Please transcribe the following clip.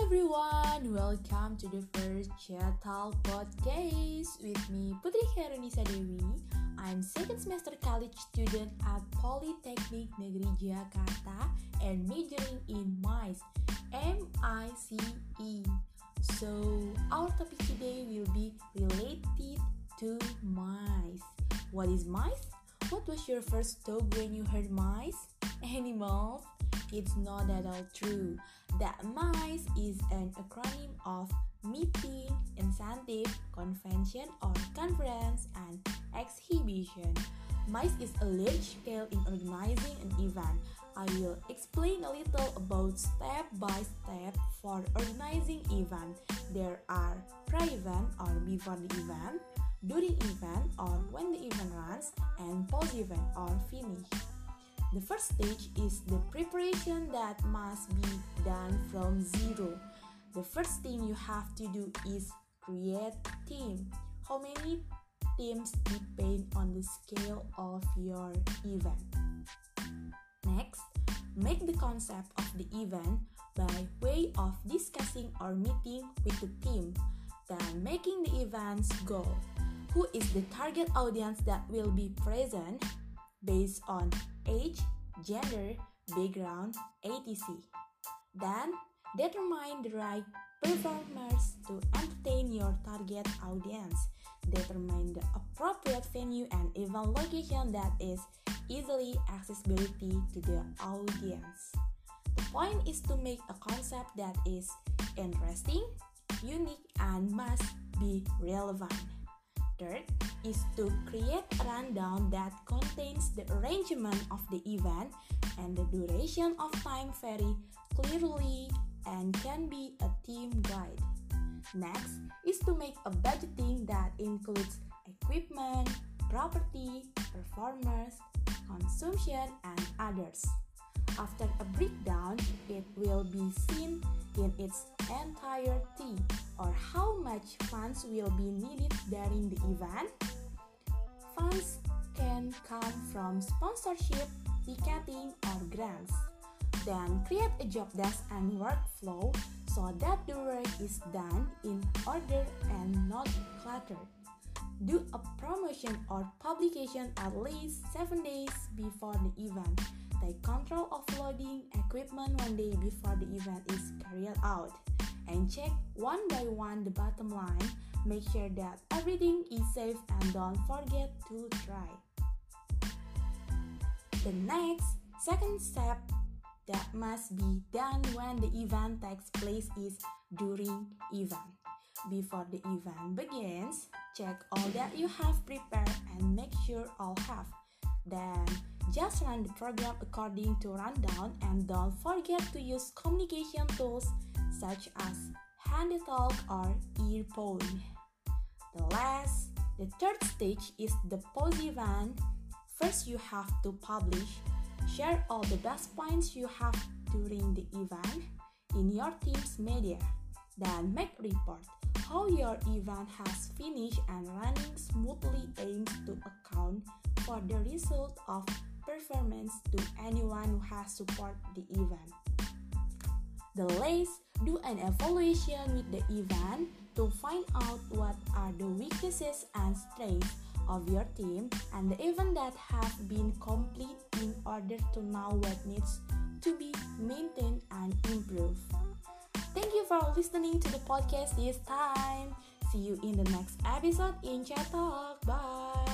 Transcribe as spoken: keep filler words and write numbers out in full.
everyone, welcome to the first Chat Talk podcast with me Putri Khairunisa Dewi. I'm second semester college student at Polytechnic Negeri Jakarta and majoring in MICE, M I C E. So our topic today will be related to mice. What is mice? What was your first thought when you heard mice? Animals? It's not at all true. That MICE is an acronym of Meeting, Incentive, Convention or Conference, and Exhibition. MICE is a large scale in organizing an event. I will explain a little about step by step for organizing event. There are pre-event or before the event, during event or when the event runs, and post-event or finish. The first stage is the preparation that must be done from zero. The first thing you have to do is create a team. How many teams depend on the scale of your event. Next, make the concept of the event by way of discussing or meeting with the team. Then making the event's goal. Who is the target audience that will be present? Based on age, gender, background, et cetera. Then, determine the right performers to entertain your target audience. Determine the appropriate venue and event location that is easily accessibility to the audience. The point is to make a concept that is interesting, unique, and must be relevant. Third is to create a rundown that contains the arrangement of the event and the duration of time very clearly and can be a team guide. Next is to make a budgeting that includes equipment, property, performers, consumption, and others. After a breakdown, it will be seen in its entirety or how much funds will be needed during the event. Funds can come from sponsorship, ticketing, or grants. Then create a job desk and workflow so that the work is done in order and not cluttered. Do a promotion or publication at least seven days before the event. Take control of loading equipment one day before the event is carried out. And check one by one the bottom line. Make sure that everything is safe and don't forget to try. The next, second step that must be done when the event takes place is during event. Before the event begins, check all that you have prepared and make sure all have. Then, just run the program according to rundown and don't forget to use communication tools such as handy talk or earphone. The last, the third stage is the post-event. First, you have to publish, share all the best points you have during the event in your team's media. Then make a report how your event has finished and running smoothly aims to account for the result of performance to anyone who has supported the event. The last, do an evaluation with the event to find out what are the weaknesses and strengths of your team and the event that have been complete in order to know what needs to be maintained and improved. Thank you for listening to the podcast this time. See you in the next episode in Chat Talk. Bye.